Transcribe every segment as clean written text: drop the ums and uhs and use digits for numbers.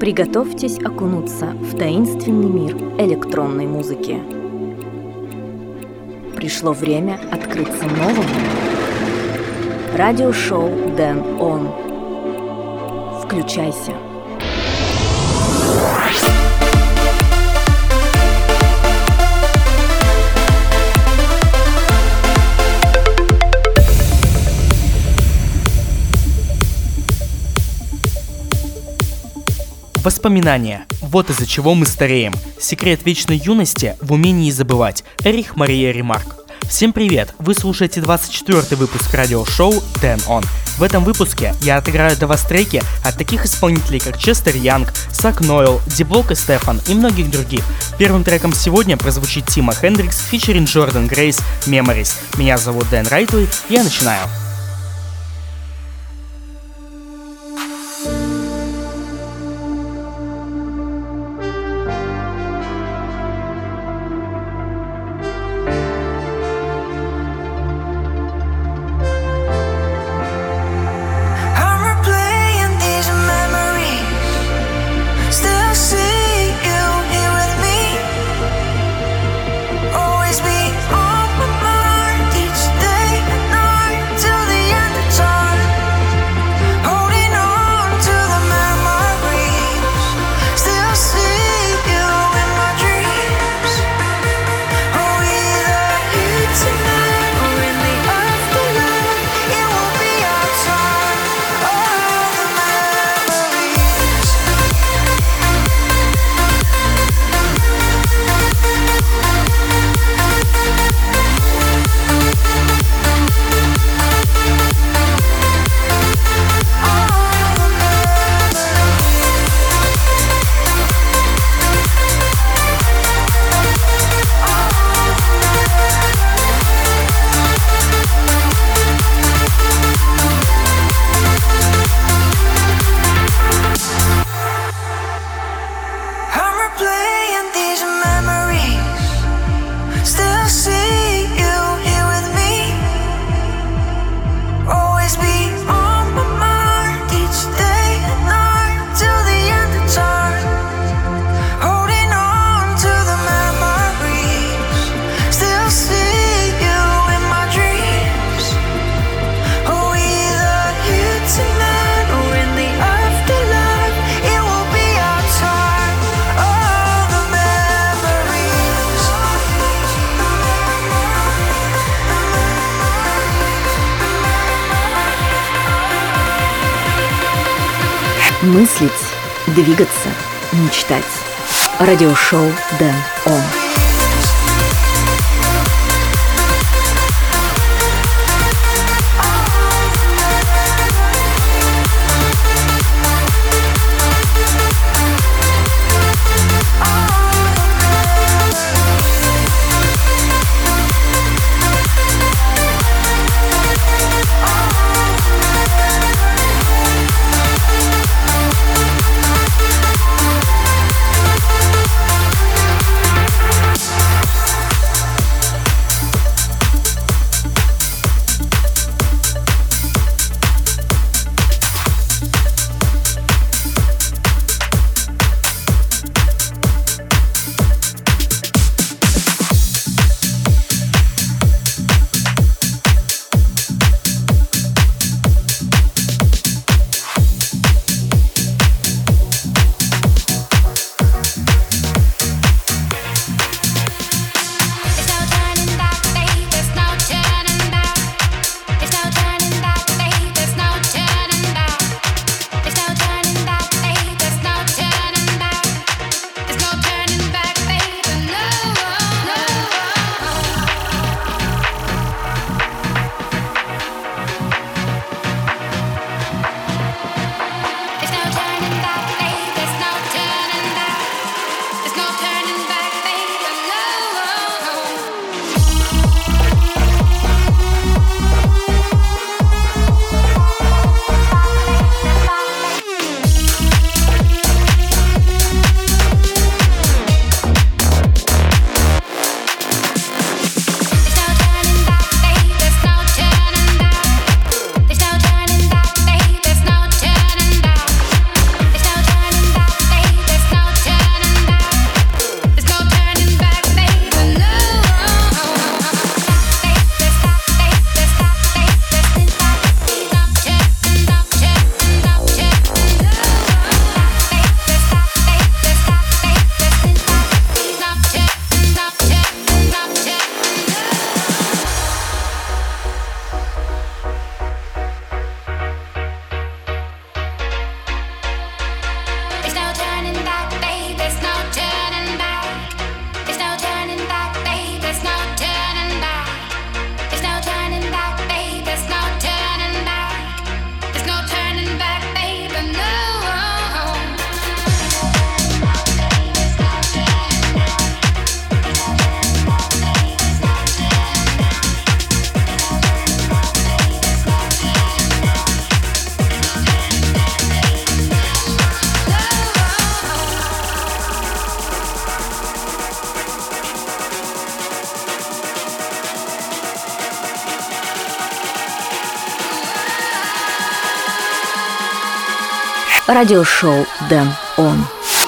Приготовьтесь окунуться в таинственный мир электронной музыки. Пришло время открыться новому. Радиошоу Dance On. Включайся. Воспоминания. Вот из-за чего мы стареем. Секрет вечной юности в умении забывать. Эрих Мария Ремарк. Всем привет! Вы слушаете 24-й выпуск радиошоу Dance On. В этом выпуске я отыграю для вас треки от таких исполнителей, как Честер Янг, Сак Нойл, Ди-Блок и Стефан и многих других. Первым треком сегодня прозвучит Тима Хендрикс фичеринг Джордан Грейс Memories. Меня зовут Дэн Райтли, я начинаю. Мыслить, двигаться, мечтать. Радиошоу Dance On. Радиошоу Дэн Он.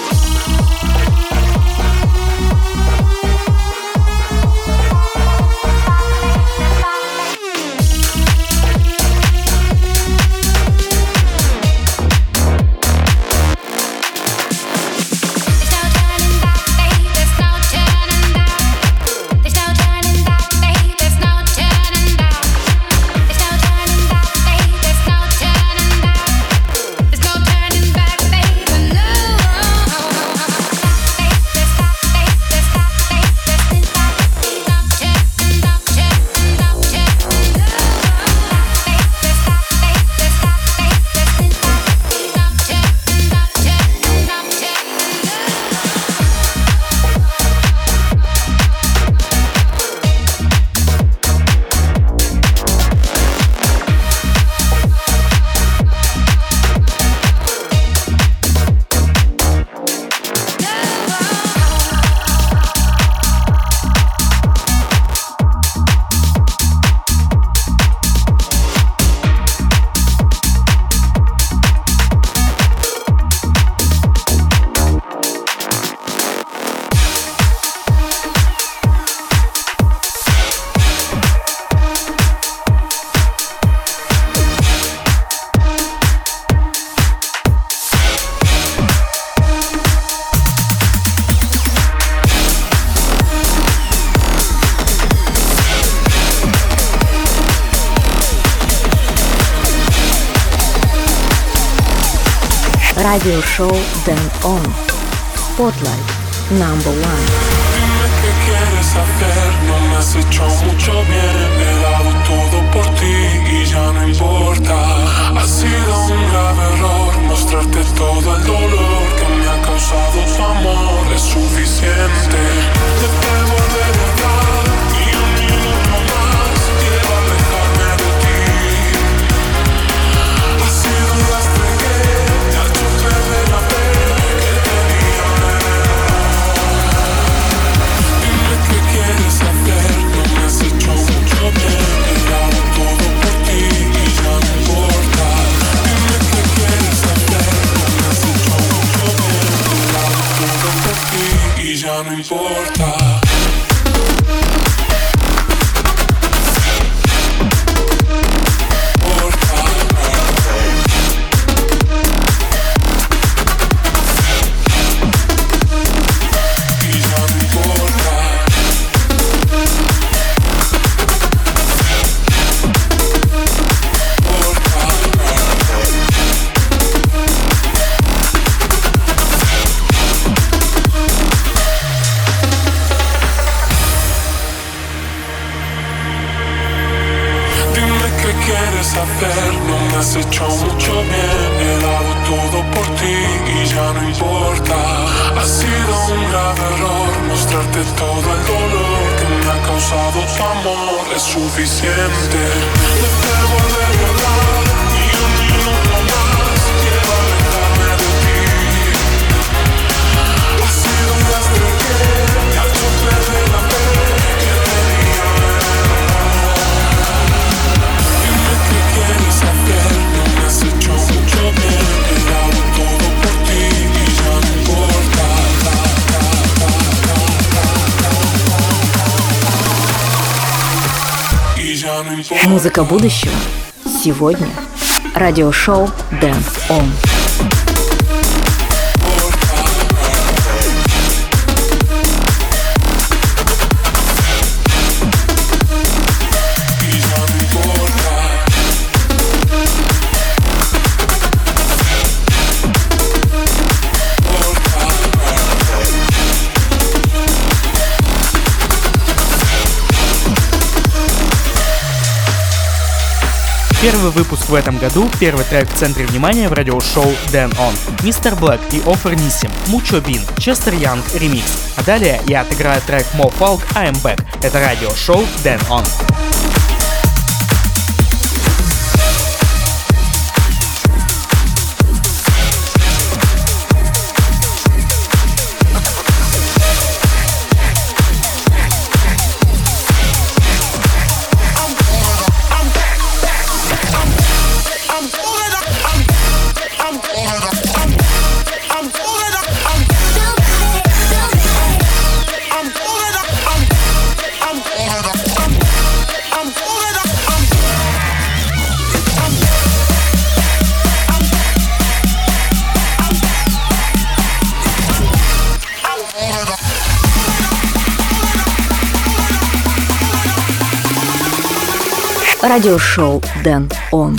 Радиошоу Дэн Он. Spotlight #1. Dime qué quieres hacer, no me has hecho mucho bien. He dado todo por ti y ya no importa. Ha sido un grave error mostrarte todo el dolor que me ha causado tu amor. Es suficiente. No te volveré atrás ni un minuto más. Quiero alejarme de ti. Ha sido un lastre que me ha hecho perder la fe que tenía. Dime qué quieres hacer, no me has hecho mucho bien. He dado todo por ti y ya no importa. Dime qué quieres hacer, no me has hecho mucho bien. He dado todo por ti y ya no importa. No me has hecho mucho bien, he dado todo por ti y ya no importa. Ha sido un grave error mostrarte todo el dolor que me ha causado tu amor. Es suficiente. No te volveré a hablar ni un minuto más. Quiero alejarme de ti. Ha sido un lastre que me ha hecho perder la fe que tenía. ¿Qué quieres hacer? No me has hecho mucho bien. He dado todo por ti y ya no importa. Y ya no importa. Музыка будущего. Сегодня. Радиошоу Дэн Он. Первый выпуск в этом году, первый трек в центре внимания в радиошоу Дэн Он. Мистер Блэк и Офер Нисим, Мучо Бин, Честер Янг ремикс. А далее я отыграю трек Mo Falk I Am Back. Это радиошоу Дэн Он. I'm Радиошоу Дэн Он.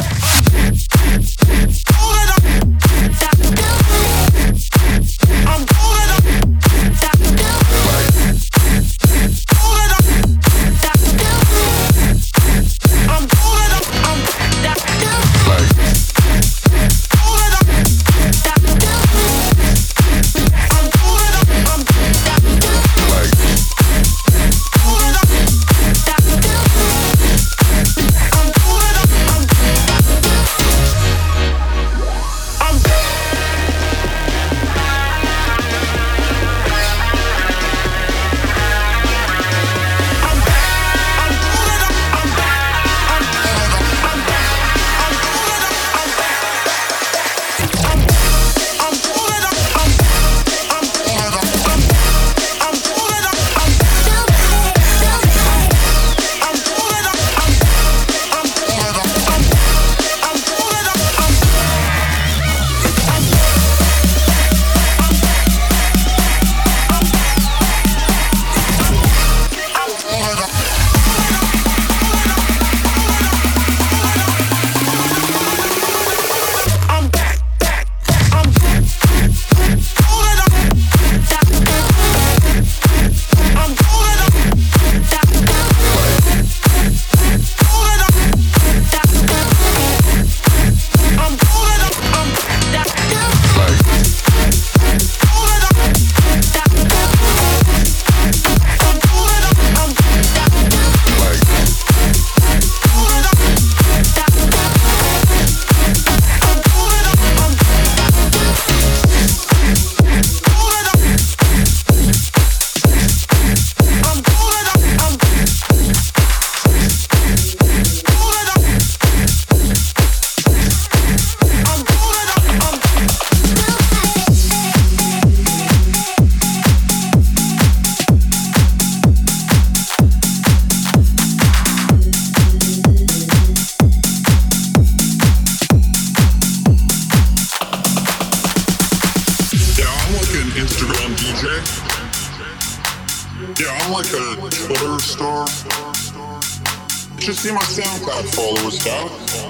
See my SoundCloud followers, dog.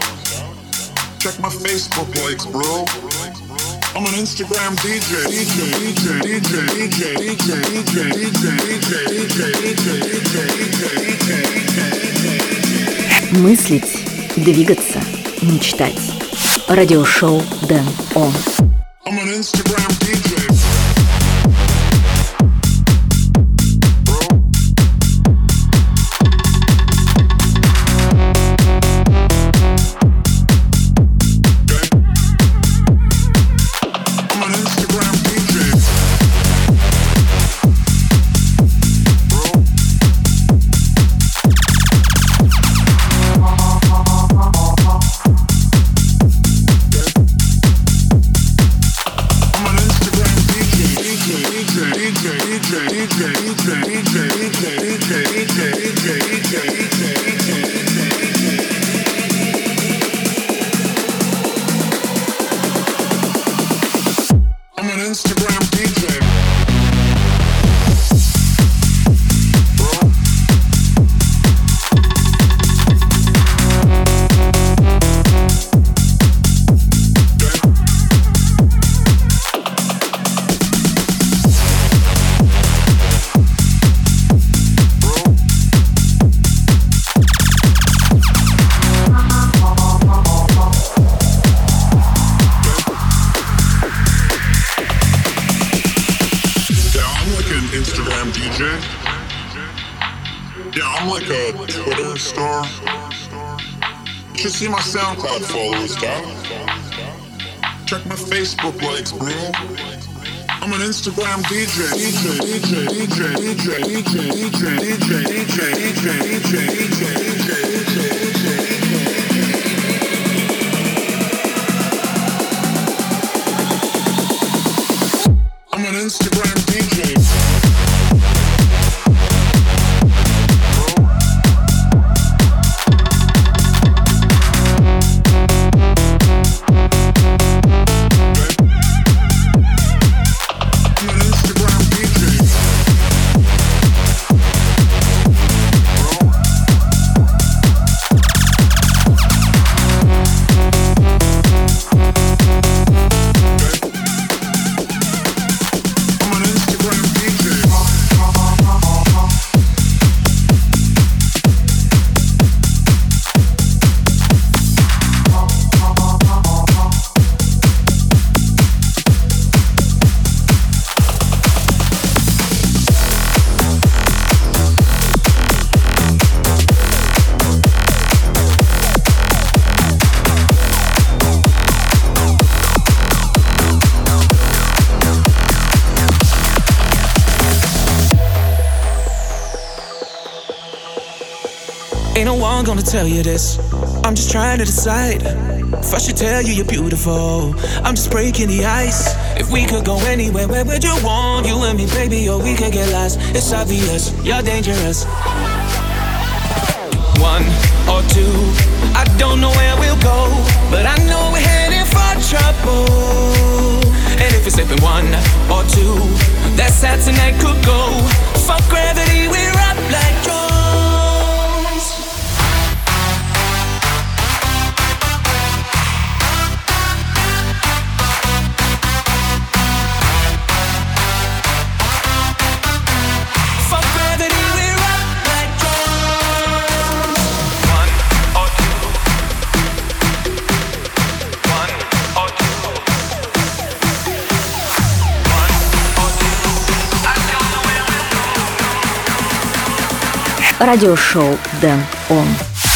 Check my Facebook likes, bro. I'm an Instagram DJ. Мыслить, двигаться, мечтать. Радиошоу Дэн Он. I'm an Instagram DJ. See my SoundCloud followers, dog. Check my Facebook likes, bro. I'm an Instagram DJ. I'm an Instagram DJ. Ain't no one gonna tell you this. I'm just trying to decide if I should tell you you're beautiful. I'm just breaking the ice. If we could go anywhere, where would you want? You and me, baby, or we could get lost. It's obvious, you're dangerous. One or two, I don't know where we'll go, but I know we're heading for trouble. And if it's slipping one or two, that's how tonight could go. Fuck gravity, we're up like drones. Радиошоу Дэн Он.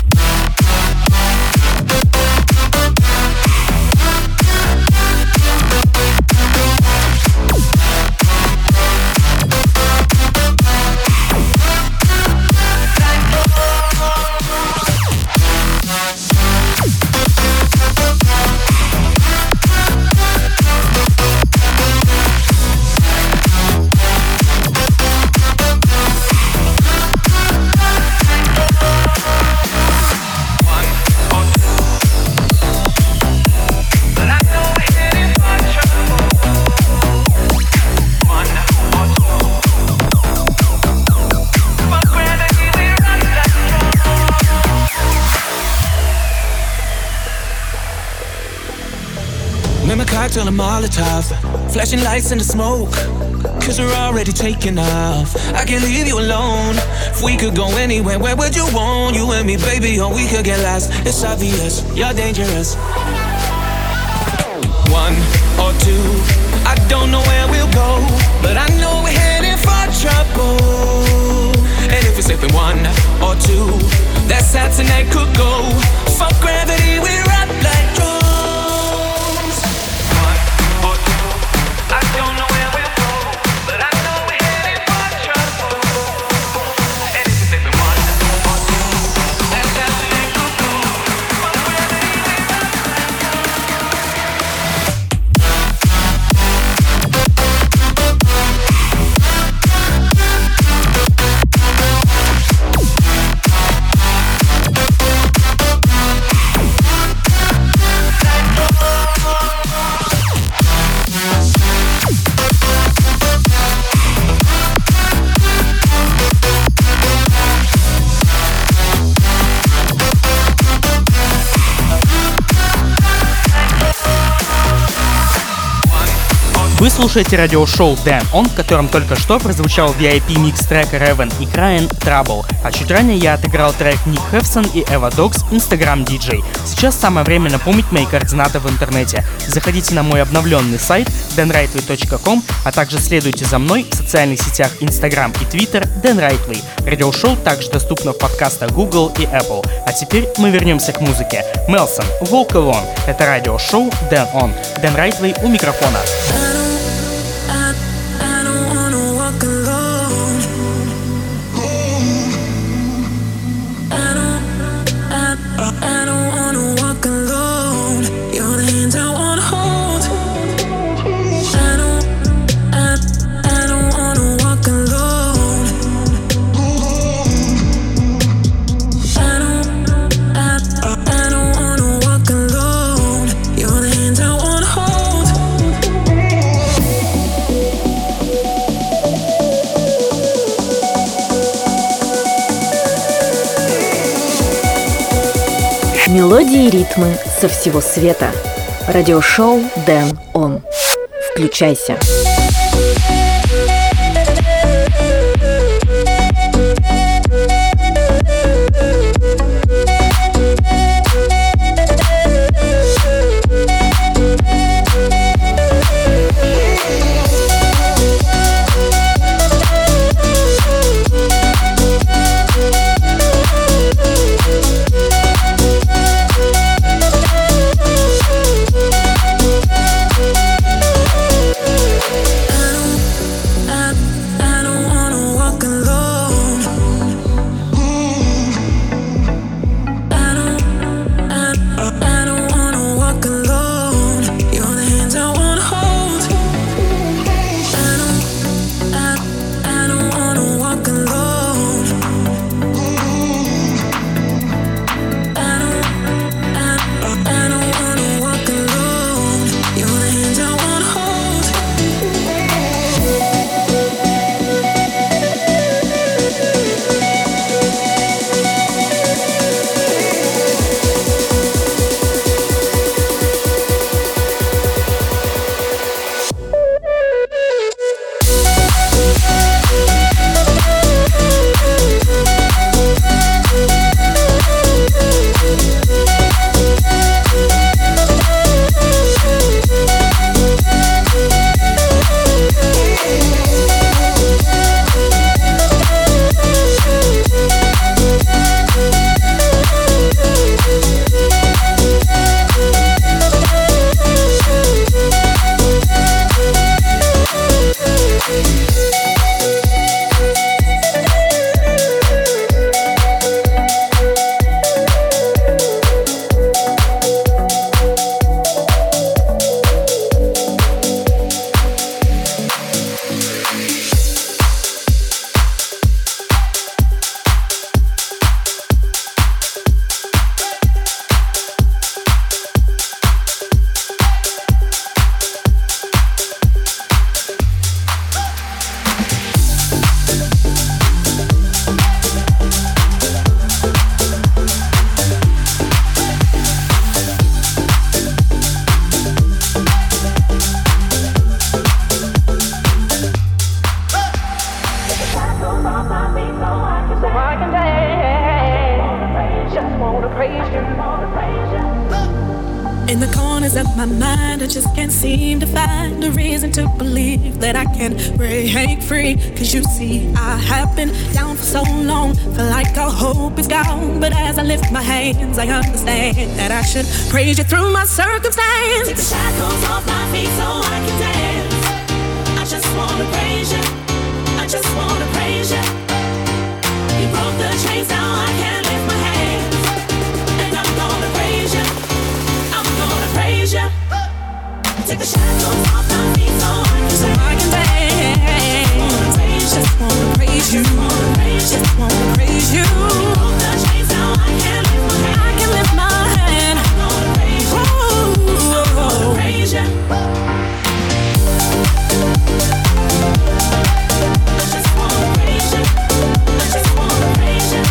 Cocktail and Molotov, flashing lights in the smoke, cause we're already taking off. I can't leave you alone. If we could go anywhere, where would you want? You and me, baby, or we could get lost. It's obvious, you're dangerous. One or two, I don't know where we'll go, but I know we're heading for trouble. And if it's slipping one or two, that's how tonight could go. Fuck gravity, we're up like drones. Вы слушаете радиошоу Дэн Он, в котором только что прозвучал VIP-микс трека Raven и Crying Trouble, а чуть ранее я отыграл трек Ник Хефсон и Эва Догс Instagram DJ. Сейчас самое время напомнить мои координаты в интернете. Заходите на мой обновленный сайт danrightway.com, а также следуйте за мной в социальных сетях Instagram и Twitter Dan Rightway. Радиошоу также доступно в подкастах Google и Apple. А теперь мы вернемся к музыке. Мелсон, Walk Alone. Это радиошоу Дэн Он. Dan Rightway у микрофона. Мелодии и ритмы со всего света. Радиошоу Дэн Он. Включайся. my mind, I just can't seem to find a reason to believe that I can break free. Cause you see, I have been down for so long, feel like all hope is gone. But as I lift my hands, I understand that I should praise you through my circumstance. Take the shackles off my feet so I can dance. I just wanna praise you, I just wanna praise you. You broke the chains, now I can lift my hands. And I'm gonna praise you, I'm gonna praise you. Take the shackles off my feet so I can dance. Just wanna praise you, just wanna praise you. You broke the chains, now I can lift my hands. I can lift my hand. I'm gonna praise you, I'm gonna praise you. I just wanna praise you, I just wanna praise you.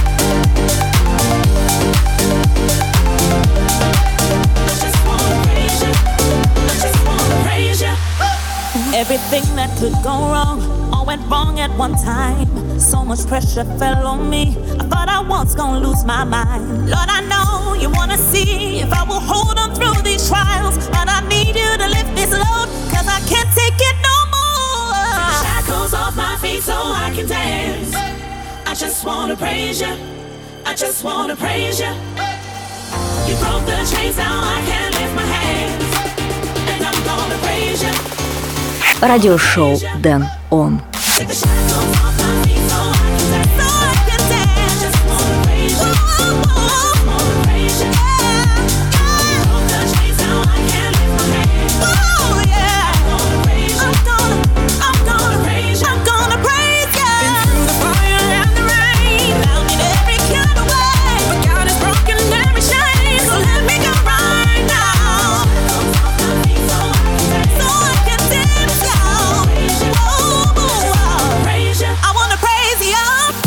I just wanna praise you, I just wanna praise you. Everything that could go wrong all went wrong at one time. So much pressure fell on me, I thought I was gonna lose my mind. Lord, I know you wanna see if I will hold on through these trials, but I need you to lift this load, cause I can't take it no more. Shackles off my feet so I can dance. I just wanna praise you, I just wanna praise you. You broke the chains, now I can lift my hands. And I'm gonna praise you. Радиошоу Дэн Он. Take the shackles off my feet so I can dance. So I can dance. I just wanna praise you, I just wanna praise you. You broke the chains, now I can lift my hands. Oh yeah, I'm gonna praise you, I'm gonna praise you. I'm gonna praise you. Been through the fire and the rain, Found in every kind of way, but God has broken every chain. so let me go right now. Shackles off my feet so I can dance. So I can dance now. Praise you. I wanna praise you.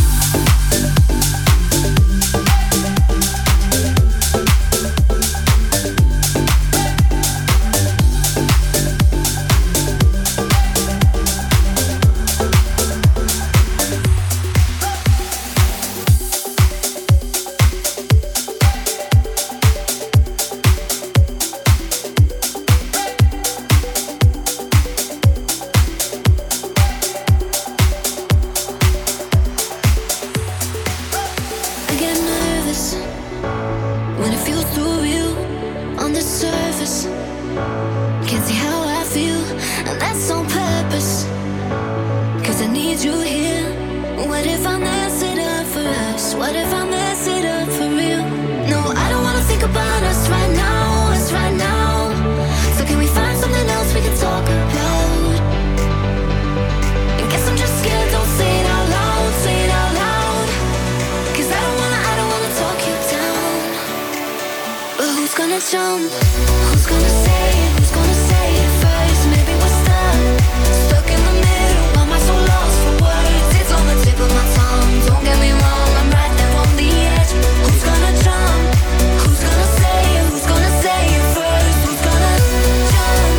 I get nervous when it feels too real on the surface. Can't see how I feel, and that's on purpose. Cause I need you here. What if I mess it up for us? What if I mess it up for real? No, I don't wanna think about us right now, us right now. So can we find something else we can talk about? I guess I'm just scared, don't say it out loud, say it out loud. Cause I don't wanna talk you down. But who's gonna jump? Who's gonna say it? Who's gonna say it first? Maybe we're stuck in the middle. Why am I so lost for words? It's on the tip of my tongue. Don't get me wrong, I'm right there on the edge. Who's gonna jump? Who's gonna say it? Who's gonna say it first? Who's gonna jump?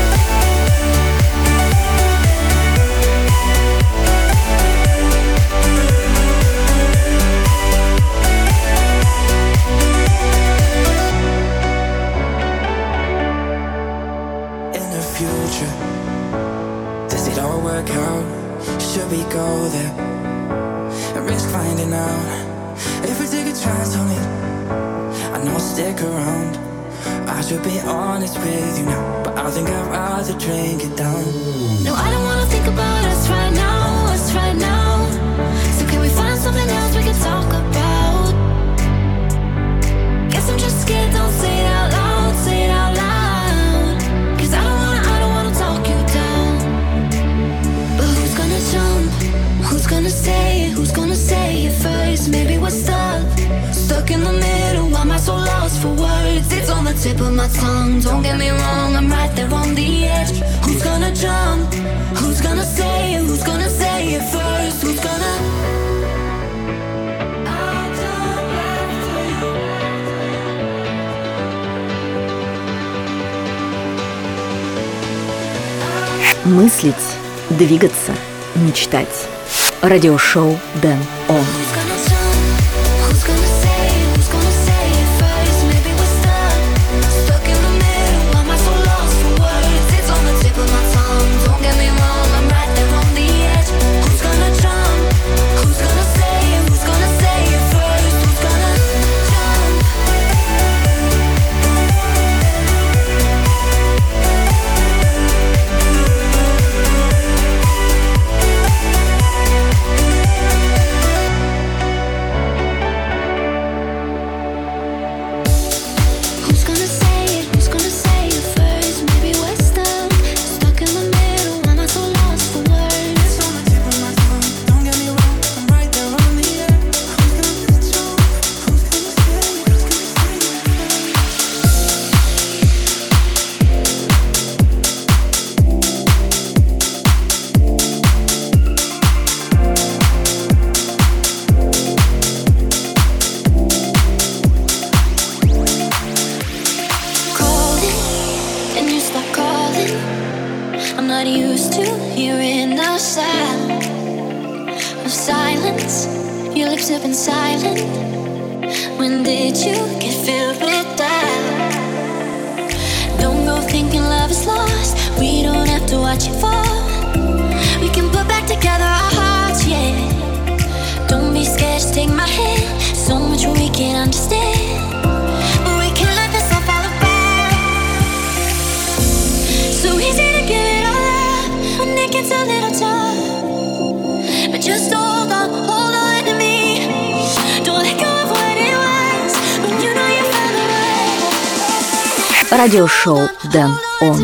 In the future, does it all work out? Should we go there and risk finding out? If we take a chance on it, I know I'll stick around. I should be honest with you now, but I think I'd rather drink it down. No, I don't wanna think about us right now, us right now. So can we find something else we can talk about? Guess I'm just scared, don't say it out loud, say it out loud. Cause I don't wanna talk you down. But who's gonna jump? Who's gonna say it? Who's gonna say it first? Maybe we're stuck in the middle. Why am I so lost for words? It's on the tip of my tongue. Don't get me wrong, I'm right there on the edge. Who's gonna jump? Who's gonna say it? Who's gonna say it first? Who's gonna? Мыслить, двигаться, мечтать. Радиошоу Дэн Он. Who's gonna jump? Who's gonna say it? Who's gonna say it first? Maybe we're stuck in the middle. Why am I so I'm not used to hearing the sound of silence. Your lips have been silent. When did you get filled with doubt? Don't go thinking love is lost. We don't have to watch it fall. We can put back together our hearts, yeah. Don't be scared, just take my hand. So much we can't understand, but we can't let this all fall apart. So easy to give it all up when it gets a little tough. But just hold on to me. Don't let go of what it was when you know you found the way. Радиошоу Дэн Он.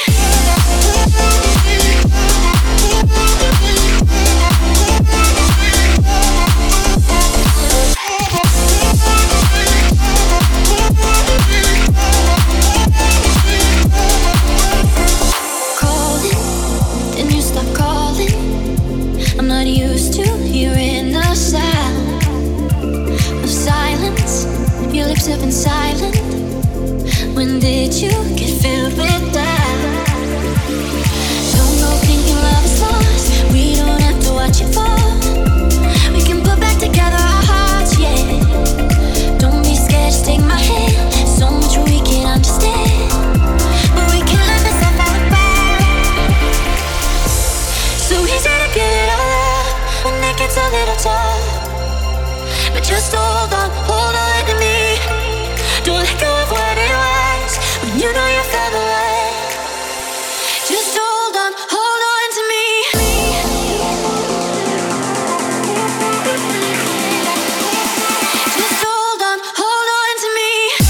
Have been silent. When did you get filled with doubt? Don't go thinking love is lost. We don't have to watch it fall. We can put back together our hearts, yeah. Don't be scared, just take my hand. So much we can't understand, but we can't let this all fall apart. So easy to give it all up when it gets a little tough. But just hold on to me. Don't let go of what it was when you know you fell away. Just hold on to me. Just hold on to me.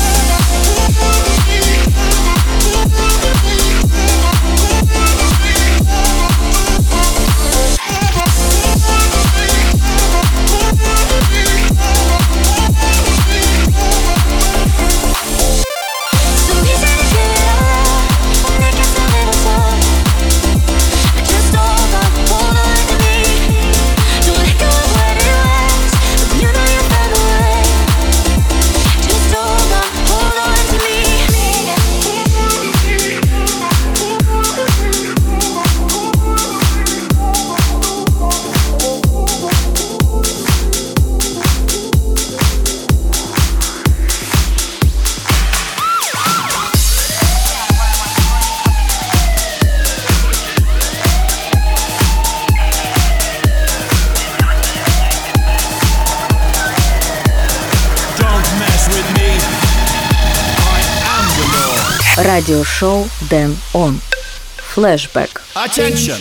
Радиошоу Дэн Он. Flashback. Attention!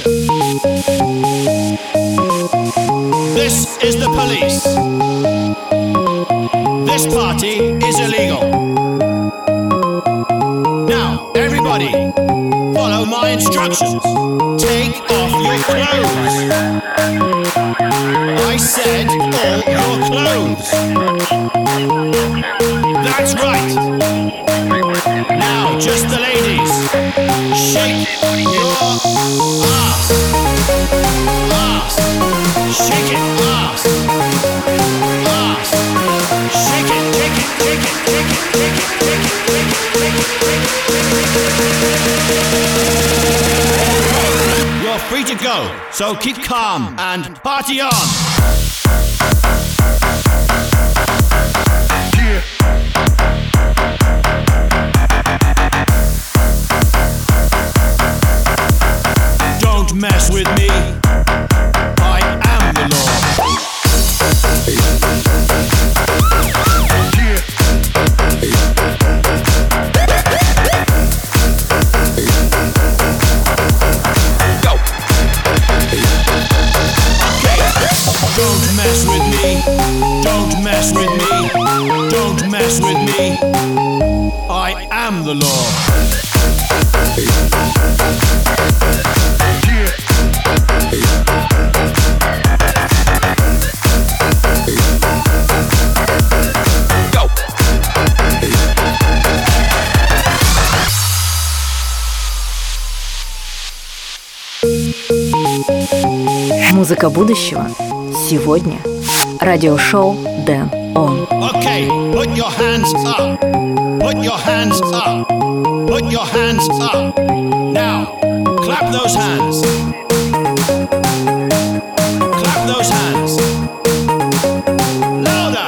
This is the police. This party is illegal. Now, everybody, follow my instructions. Take off your clothes. I said all your clothes. That's right. Now, just the ladies. Shake your ass. Ass. Shake it, ass. Ass. Shake it, shake it, shake it, shake it, shake it, shake it, shake it, shake it. You're free to go, so keep calm and party on. Don't mess with me. I am the law. Go. Okay. Don't mess with me. Don't mess with me. Don't mess with me. I am the law. Музыка будущего сегодня. Радиошоу Дэн Он. Okay, put your hands up. Put your hands up. Put your hands up. Now, Clap those hands. Clap those hands. Louder.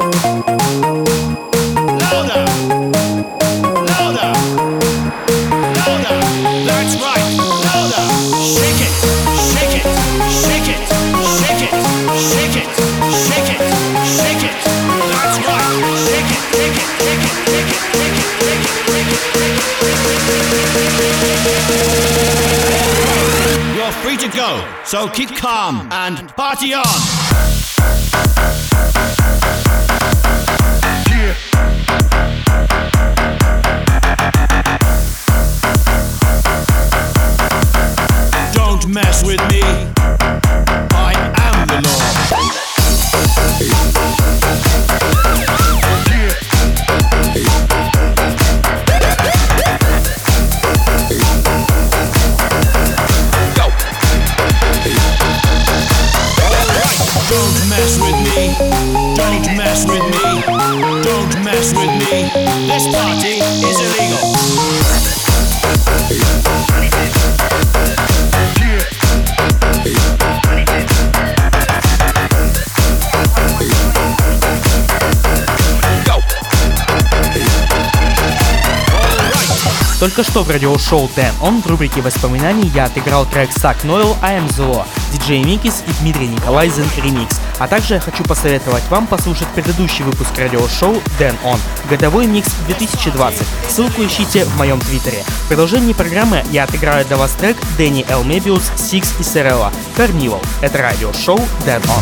Louder. Louder. Louder. That's right. Louder. Shake it. Shake it. Shake it. Shake it. Shake it. Shake it. Shake it. That's right. Shake it. Shake it. Shake it. Shake it. Shake it. Shake it. You're free to go, so keep calm and party on. Don't mess with me. I am the law. Don't mess with me. Don't mess with me. Don't mess with me. This party is illegal. Только что в радиошоу Дэн Он в рубрике воспоминаний я отыграл трек Suck Noel I Am The Law, диджей Микис и Дмитрий Николайзен ремикс. А также я хочу посоветовать вам послушать предыдущий выпуск радиошоу Дэн Он, годовой микс 2020. Ссылку ищите в моем твиттере. В продолжении программы я отыграю для вас трек Дэнни Эл Мебиус, Сикс и Серелла Carnival. Это радиошоу Дэн Он.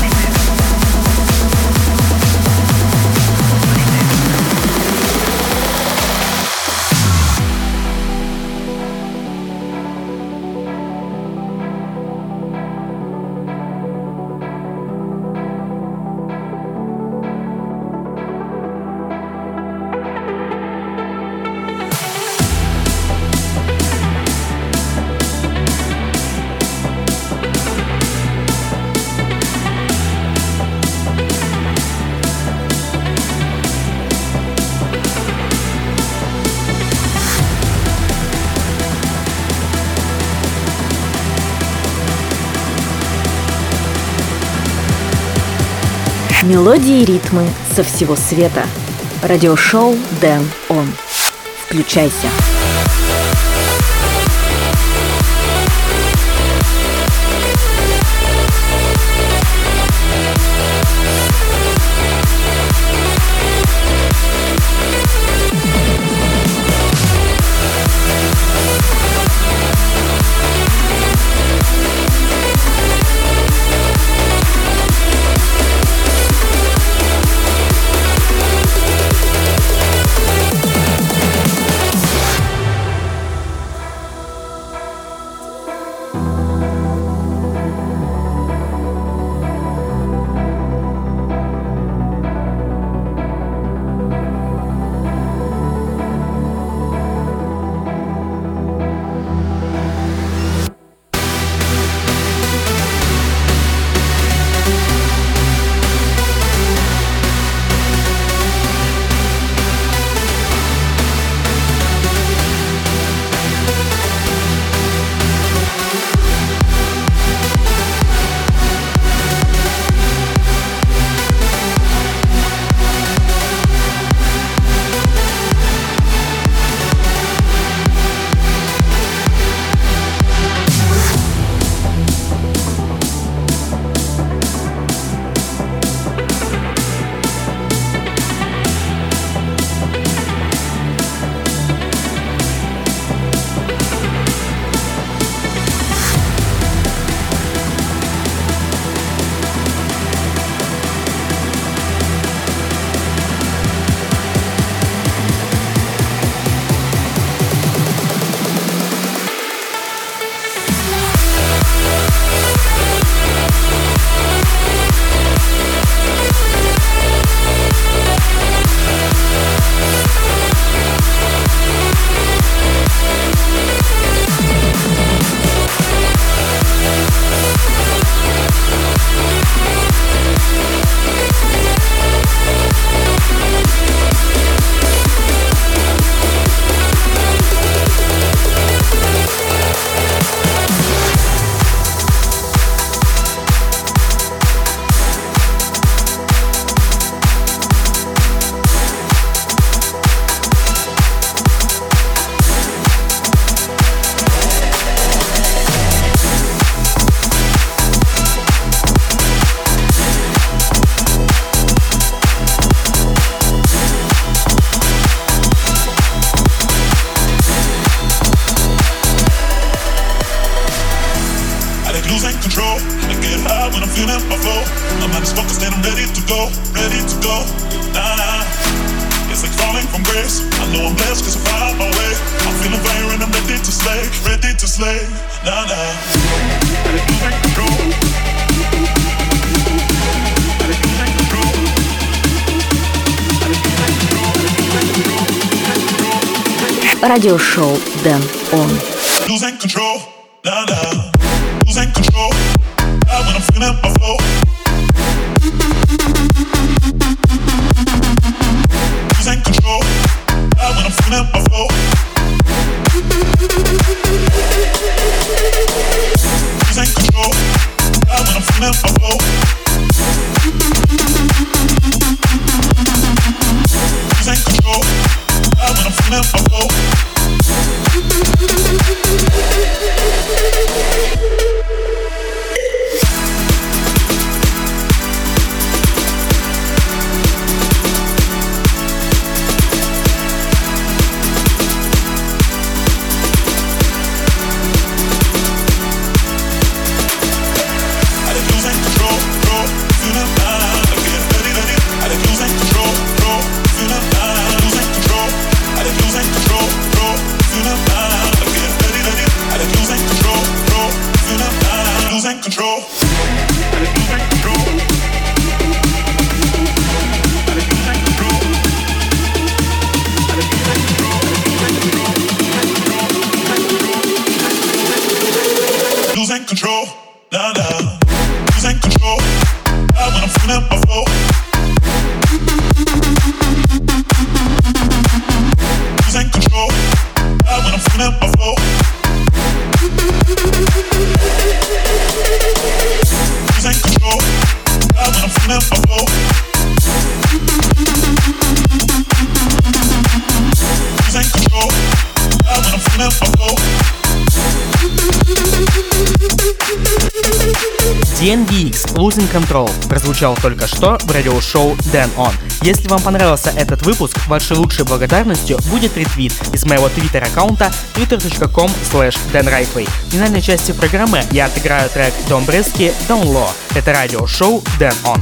Мелодии и ритмы со всего света. Радиошоу Дэн Он. Включайся. like losing control. I get high when I'm feeling my flow. My mind is focused and I'm ready to go, ready to go. Nah, nah. It's like falling from grace. I know I'm blessed cause I found my way. I'm feeling fire and I'm ready to slay, ready to slay. Nah, nah. I like losing control. I like losing control. I like losing control. Радиошоу Дэн Он. Losing control, nah nah. Losing control, when I'm feeling my flow. Losing control, when I'm feeling my flow. Losing control, when I'm feeling my flow. Losing control, when I'm feeling my flow. Losing control, nah nah. Losing control, when I'm feeling my flow. Losing control, when I'm feeling my flow. Losing control, when I'm feeling my flow. Losing control, when I'm feeling my flow. DNVX Losing Control прозвучал только что в радиошоу Дэн Он. Если вам понравился этот выпуск, вашей лучшей благодарностью будет ретвит из моего твиттер-аккаунта twitter.com/DanRightway. В финальной части программы я отыграю трек Дом Брески Down Low. Это радиошоу Дэн Он.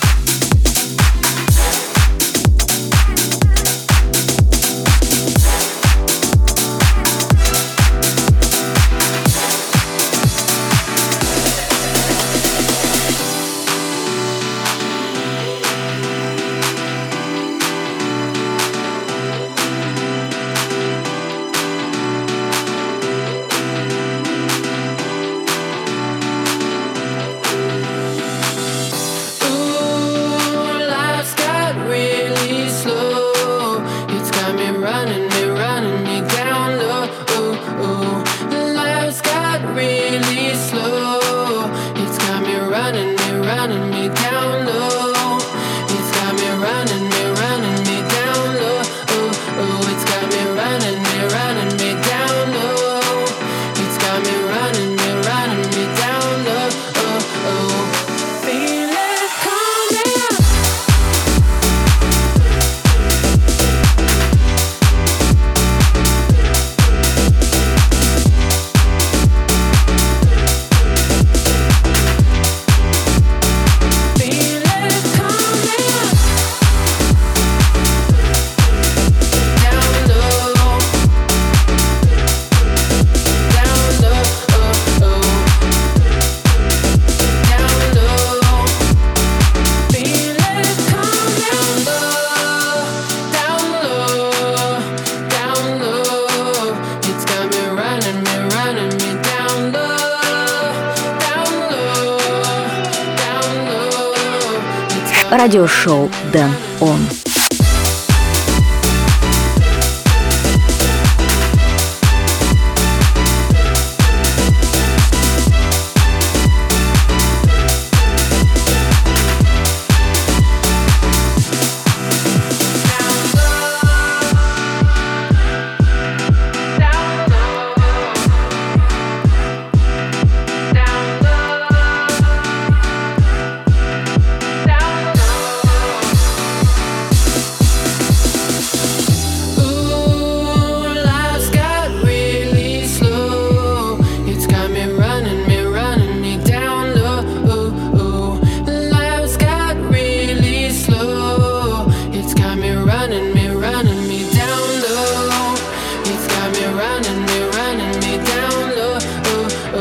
Радиошоу Дэн Он.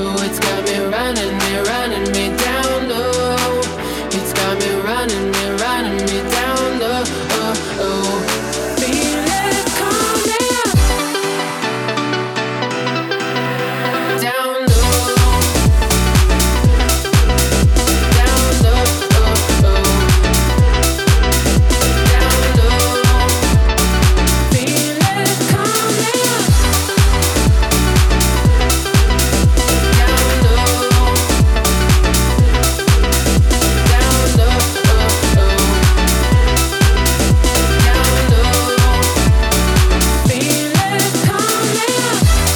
oh. It's got me running me down low. It's got me running me down low. Oh, oh. Feel it coming down low, down low, oh, oh. Down low. Feel it coming down low, down low, oh, oh. Down low. Feel it coming.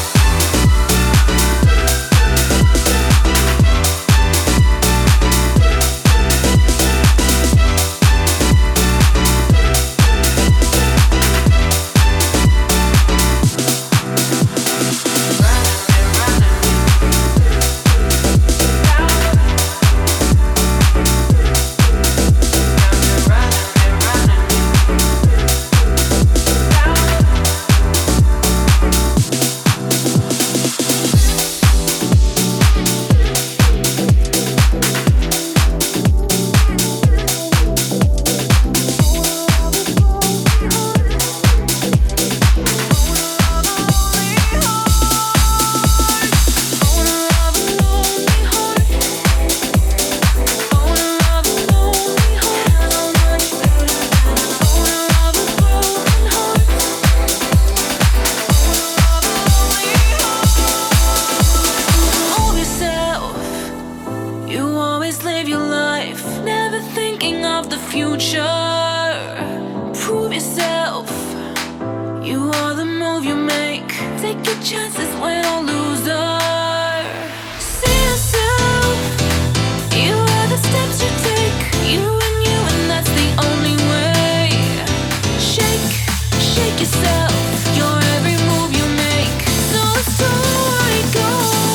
Move yourself. You always live your life, never thinking of the future. Prove yourself. You are the move you make. Take your chances, win or loser. See yourself. You are the steps you take. You, and that's the only way. Shake, shake yourself. Your every move you make. So let's do it, go.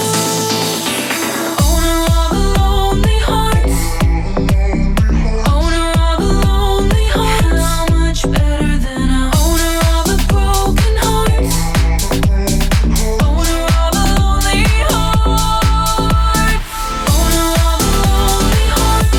Owner of a lonely heart. Owner of a lonely heart. How much better than a owner of a broken heart. Owner of a lonely heart. Owner of a lonely heart.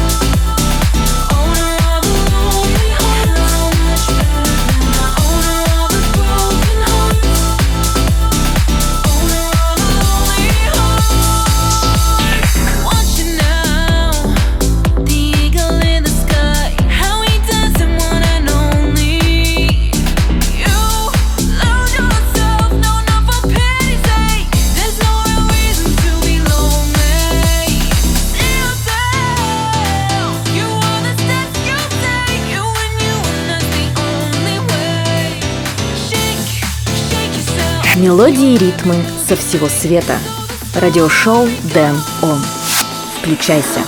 Owner of a lonely heart. How much better than a owner of a broken heart. Owner of a lonely heart. Watch it now, the eagle in the sky, how he does it one and only. You love yourself, no, not for pity's sake. There's no real reason to be lonely. See yourself, you are the steps you take. You, and that's the only way. Shake, shake yourself. Мелодии и ритмы со всего света. Радиошоу Дэн Он. Включайся.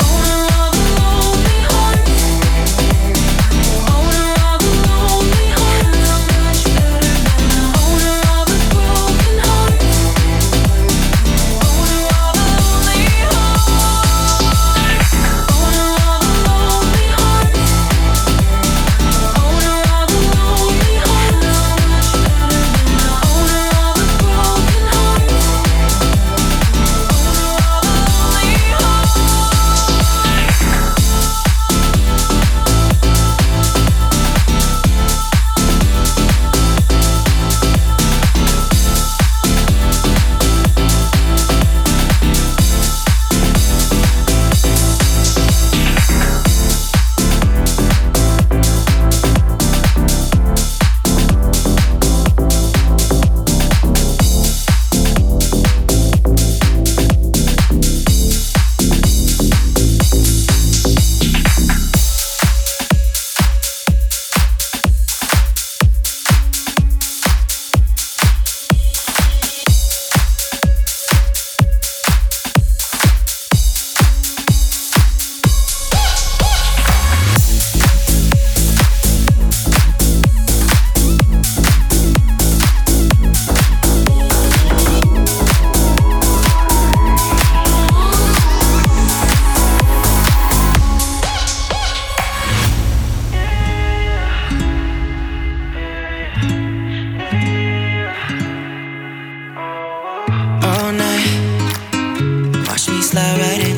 Owner of a lonely heart.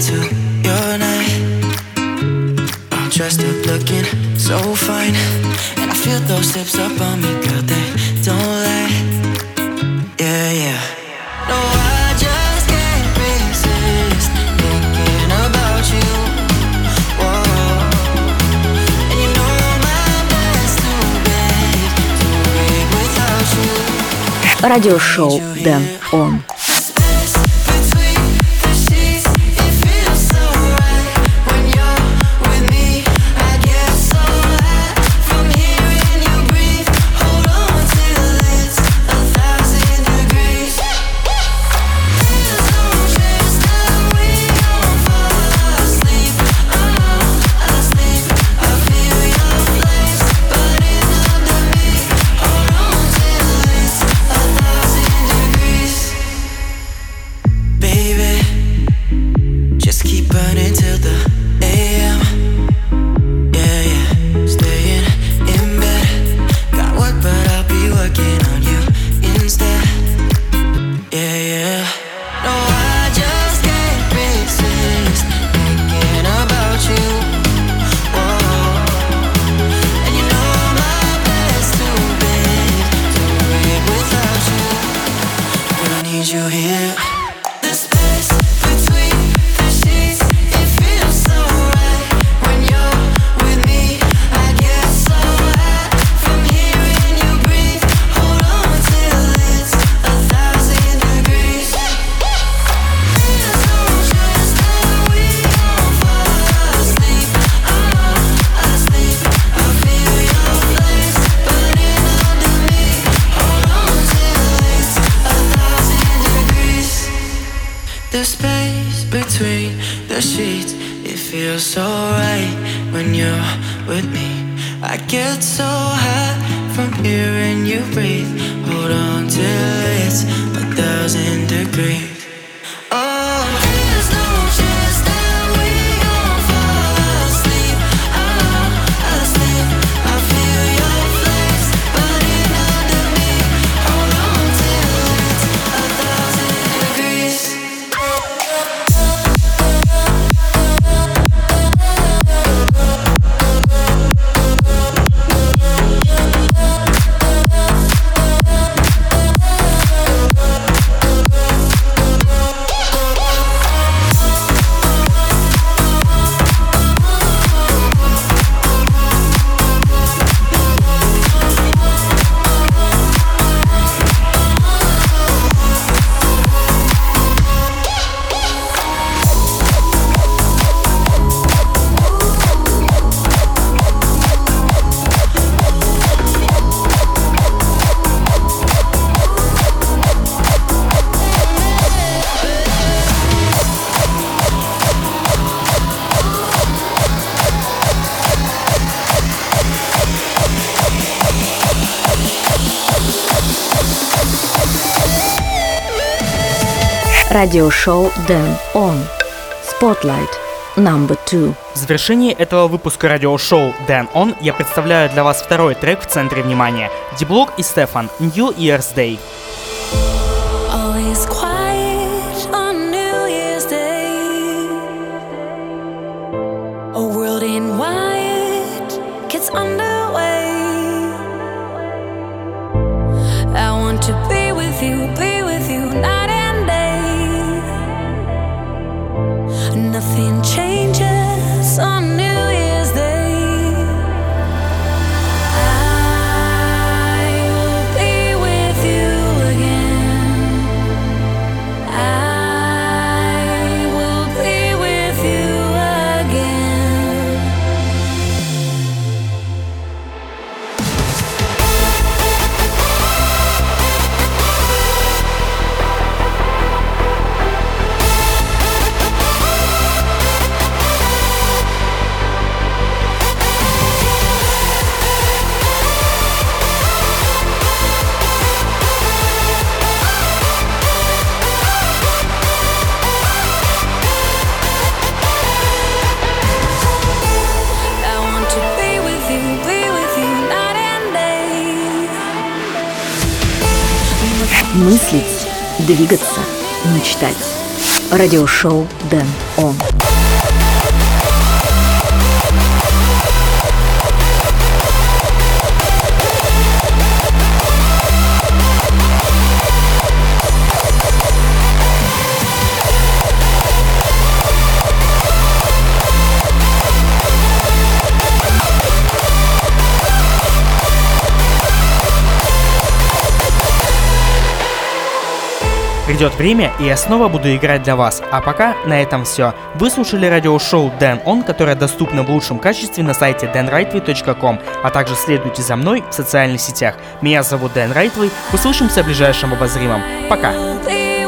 into your night. I'm dressed up looking so fine, and I feel those hips up on me, girl, they don't lie. Yeah, yeah. No, I just can't resist thinking about you. Whoa. And you know my bed's too big to break without you. Радиошоу Дэн Он. The space between the sheets, it feels so right when you're with me. I get so high from hearing you breathe. Hold on till it's 1,000 degrees. Oh, there's no chance that we gon' fall asleep. Asleep. I feel your flames burning under me. Hold on till it's 1,000 degrees. Радиошоу Дэн Он. Spotlight number 2. В завершении этого выпуска радиошоу Дэн Он я представляю для вас второй трек в центре внимания. Ди-Блок и Стефан, New Year's Day. All is quiet on New Year's Day. A world in white gets underway. I want to be with you night and day. Nothing changes on New Year's Day. I will be with you again. I will be with you again. Мыслить, двигаться, мечтать. Радиошоу Дэн Он. Придет время, и я снова буду играть для вас. А пока на этом все. Вы слушали радиошоу Дэн Он, которое доступно в лучшем качестве на сайте danrightway.com, а также следуйте за мной в социальных сетях. Меня зовут Дэн Райтвей. Услышимся в ближайшем обозримом. Пока!